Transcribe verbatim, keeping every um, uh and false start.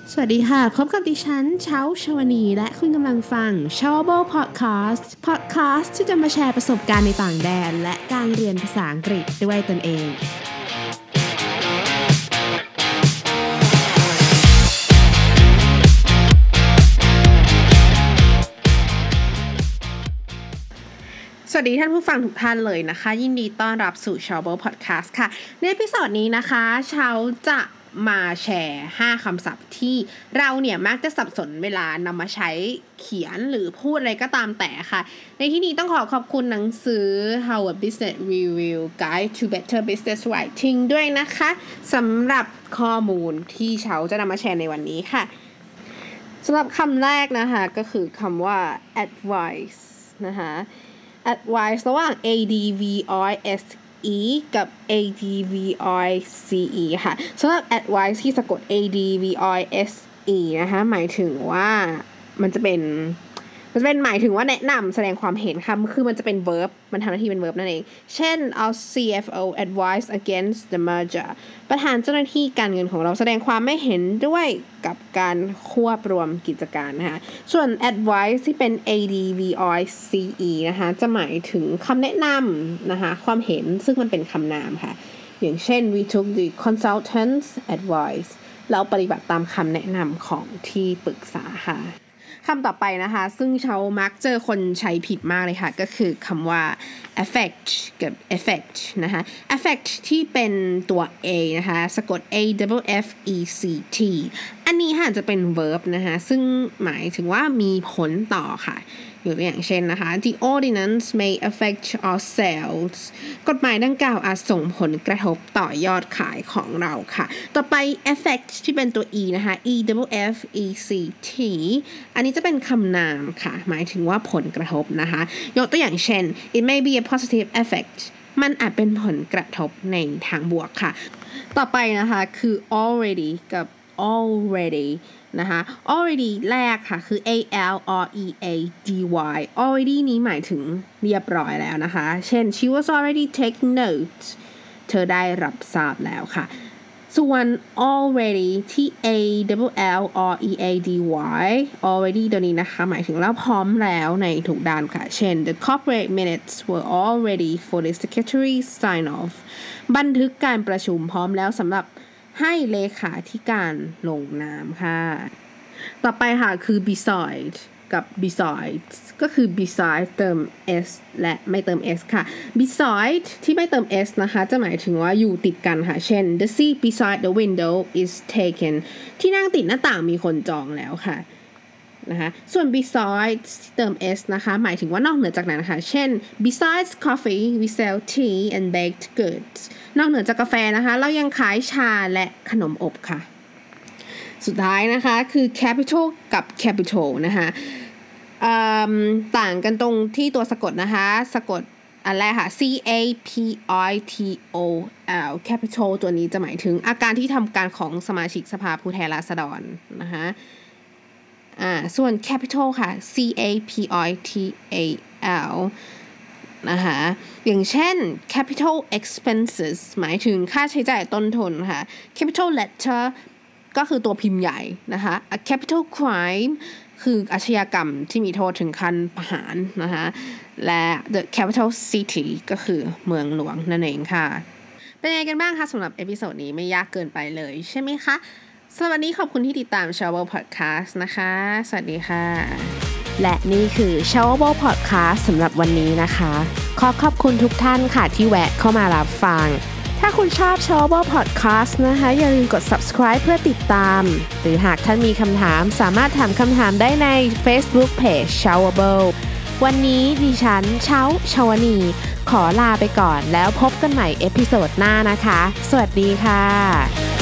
สวัสดีค่ะพบกับดิฉันเช้าชวนีและคุณกำลังฟัง Chowable Podcast Podcast ที่จะมาแชร์ประสบการณ์ในต่างแดนและการเรียนภาษาอังกฤษด้วยตนเองสวัสดีท่านผู้ฟังทุกท่านเลยนะคะยินดีต้อนรับสู่ Chowable Podcast ค่ะในเอพิโซดนี้นะคะเช้าจะมาแชร์ห้าคำศัพท์ที่เราเนี่ยมักจะสับสนเวลานำมาใช้เขียนหรือพูดอะไรก็ตามแต่ค่ะในที่นี้ต้องขอขอบคุณหนังสือ Harvard Business Review Guide to Better Business Writing ด้วยนะคะสำหรับข้อมูลที่เช้าจะนำมาแชร์ในวันนี้ค่ะสำหรับคำแรกนะคะก็คือคำว่า advice นะคะ advice ระหว่าง A D V I S E กับ A D V I C E ค่ะสำหรับ advice ที่สะกด A D V I S E นะคะหมายถึงว่ามันจะเป็นมันจะเป็นหมายถึงว่าแนะนำแสดงความเห็นค่ะคือมันจะเป็น verb มันทำหน้าที่เป็น verb นั่นเองเช่น our ซี เอฟ โอ advise against the merger ประธานเจ้าหน้าที่การเงินของเราแสดงความไม่เห็นด้วยกับการควบรวมกิจการนะคะส่วน advice ที่เป็น A D V I C E นะคะจะหมายถึงคำแนะนำนะคะความเห็นซึ่งมันเป็นคำนามค่ะอย่างเช่น we took the consultant's advice เราปฏิบัติตามคำแนะนำของที่ปรึกษาค่ะคำต่อไปนะคะซึ่งเชามักเจอคนใช้ผิดมากเลยค่ะก็คือคำว่า affect กับ effect นะคะ affect ที่เป็นตัว A นะคะสะกด A F F E C T อันนี้ค่ะจะเป็น verb นะคะซึ่งหมายถึงว่ามีผลต่อค่ะยกตัวอย่างเช่นนะคะ The ordinance may affect our sales กฎหมายดังกล่าวอาจส่งผลกระทบต่อยอดขายของเราค่ะต่อไป affect ที่เป็นตัว E นะคะ E F F E C T อันนี้จะเป็นคำนามค่ะหมายถึงว่าผลกระทบนะคะยกตัวอย่างเช่น It may be a positive effect มันอาจเป็นผลกระทบในทางบวกค่ะต่อไปนะคะคือ already กับ alreadyนะคะ already แรกค่ะคือ A L R E A D Y already นี้หมายถึงเรียบร้อยแล้วนะคะเช่น she was already taking notes เธอได้รับทราบแล้วค่ะส่วน already ที่ A L L R E A D Y already ตัวนี้นะคะหมายถึงแล้วพร้อมแล้วในทุกด้านค่ะเช่น the corporate minutes were all ready for the secretary sign off บันทึกการประชุมพร้อมแล้วสำหรับให้เลขาธิการลงนามค่ะต่อไปค่ะคือ beside กับ besides ก็คือ beside เติม s และไม่เติม s ค่ะ beside ที่ไม่เติม s นะคะจะหมายถึงว่าอยู่ติดกันค่ะเช่น the seat beside the window is taken ที่นั่งติดหน้าต่างมีคนจองแล้วค่ะนะคะส่วน besides เติม s นะคะหมายถึงว่านอกเหนือจากนั้นค่ะเช่น besides coffee we sell tea and baked goods นอกเหนือจากกาแฟนะคะเรายังขายชาและขนมอบค่ะสุดท้ายนะคะคือ capital กับ capital นะคะต่างกันตรงที่ตัวสะกดนะคะสะกดอันแรกค่ะ C A P I T O L capital ตัวนี้จะหมายถึงอาการที่ทำการของสมาชิกสภาผู้แทนราษฎรนะคะอ่าส่วน capital ค่ะ C A P I T A L นะคะอย่างเช่น capital expenses หมายถึงค่าใช้จ่ายต้นทุนค่ะ capital letter ก็คือตัวพิมพ์ใหญ่นะคะ a capital crime คืออาชญากรรมที่มีโทษถึงขั้นประหารนะคะและ the capital city ก็คือเมืองหลวงนั่นเองค่ะเป็นยังไงกันบ้างคะสำหรับเอพิโซดนี้ไม่ยากเกินไปเลยใช่ไหมคะสวัสดีขอบคุณที่ติดตาม Chowable Podcast นะคะสวัสดีค่ะและนี่คือ Chowable Podcast สำหรับวันนี้นะคะขอขอบคุณทุกท่านค่ะที่แวะเข้ามารับฟังถ้าคุณชอบ Chowable Podcast นะคะอย่าลืมกด subscribe เพื่อติดตามหรือหากท่านมีคำถามสามารถถามคำถามได้ใน Facebook Page Chowable วันนี้ดิฉันเช้าชวนีขอลาไปก่อนแล้วพบกันใหม่เอพิโซดหน้านะคะสวัสดีค่ะ